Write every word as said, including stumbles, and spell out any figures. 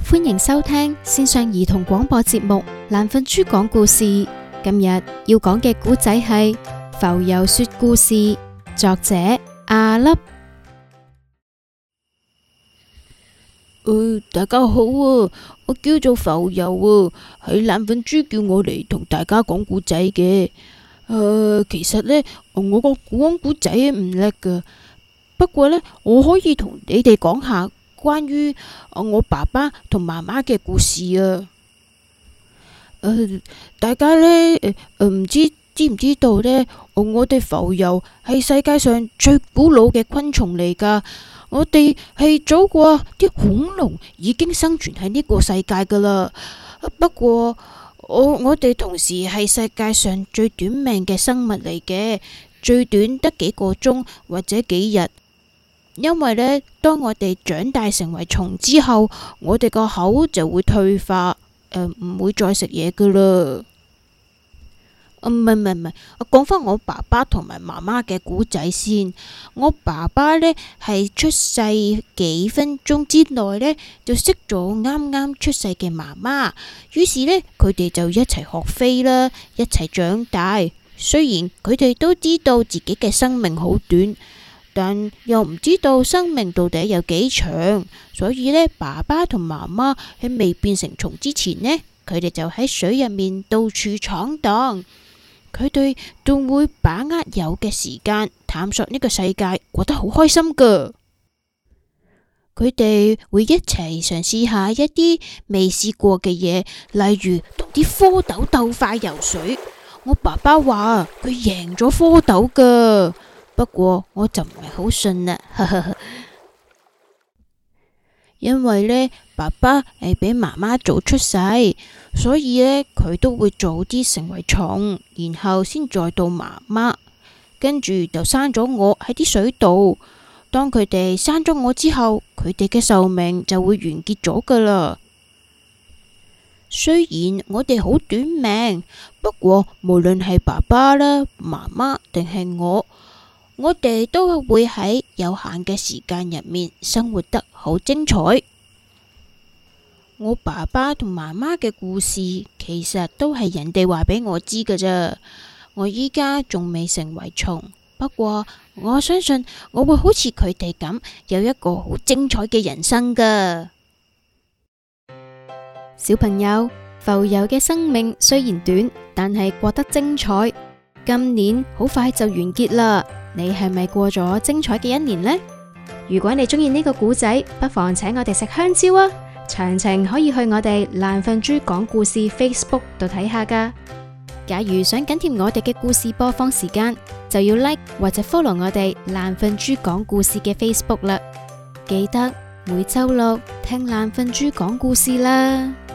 歡迎收聽線上兒童廣播節目《懶瞓豬講故事》。今日要講嘅故仔係浮游說故事，作者阿粒。 呃，大家好啊，我叫做浮游啊，係懶瞓豬叫我嚟同大家講故仔嘅。誒、呃，其實呢，我個講故仔唔叻噶，不過呢，我可以同你哋講下關於我爸爸同媽媽嘅故事啊。呃、大家呢，誒、呃，唔知知唔知道呢？我哋浮游係世界上最古老嘅昆蟲嚟噶。我哋係早過啲恐龍已經生存喺呢個世界噶啦。不過我我哋同時係世界上最短命嘅生物嚟嘅，最短得幾個鐘或者幾日。因為呢，當我哋長大成為蟲之後，我哋個口就會退化，誒、呃、唔會再食嘢噶啦。唔係唔係唔係，我講返我爸爸同埋媽媽嘅故仔先。我爸爸呢係出世幾分鐘之內呢，就識咗啱啱出世嘅媽媽，於是呢，佢哋就一齊學飛啦，一齊長大。雖然佢哋都知道自己嘅生命好短，但又唔知道生命到底有幾長，所以呢，爸爸同媽媽喺未變成蟲之前呢，佢哋就喺水入面到處闖蕩。佢哋仲會把握有嘅時間探索呢個世界，過得好開心噶。佢哋會一齊嘗試下一啲未試過嘅嘢，例如同啲蝌蚪鬥快游水。我爸爸話佢贏咗蝌蚪噶，不過我就唔係好信啦。因為呢，爸爸係比媽媽早出世，所以呢，佢都會早啲成為蟲，然後先再到媽媽，跟住就生咗我喺啲水度。當佢哋生咗我之後，佢哋嘅壽命就會完結咗噶啦。雖然我哋好短命，不過無論係爸爸啦、媽媽定係我，我哋都會喺有限嘅時間入面生活得好精彩。我爸爸同媽媽嘅故事其實都係人哋話俾我知㗎咋。我依家仲未成為蟲，不過我相信我會好似佢哋咁有一個好精彩嘅人生㗎。 小朋友，浮游嘅生命雖然短，但係過得精彩。今年好快就完結啦，你係咪過咗精彩嘅一年呢？如果你中意呢個故仔，不妨請我哋食香蕉啊！詳情可以去我哋懶瞓豬講故事 Facebook 度睇下噶。假如想緊貼我哋嘅故事播放時間，就要 like 或者 follow 我哋懶瞓豬講故事嘅 Facebook 啦。記得每周六聽懶瞓豬講故事啦。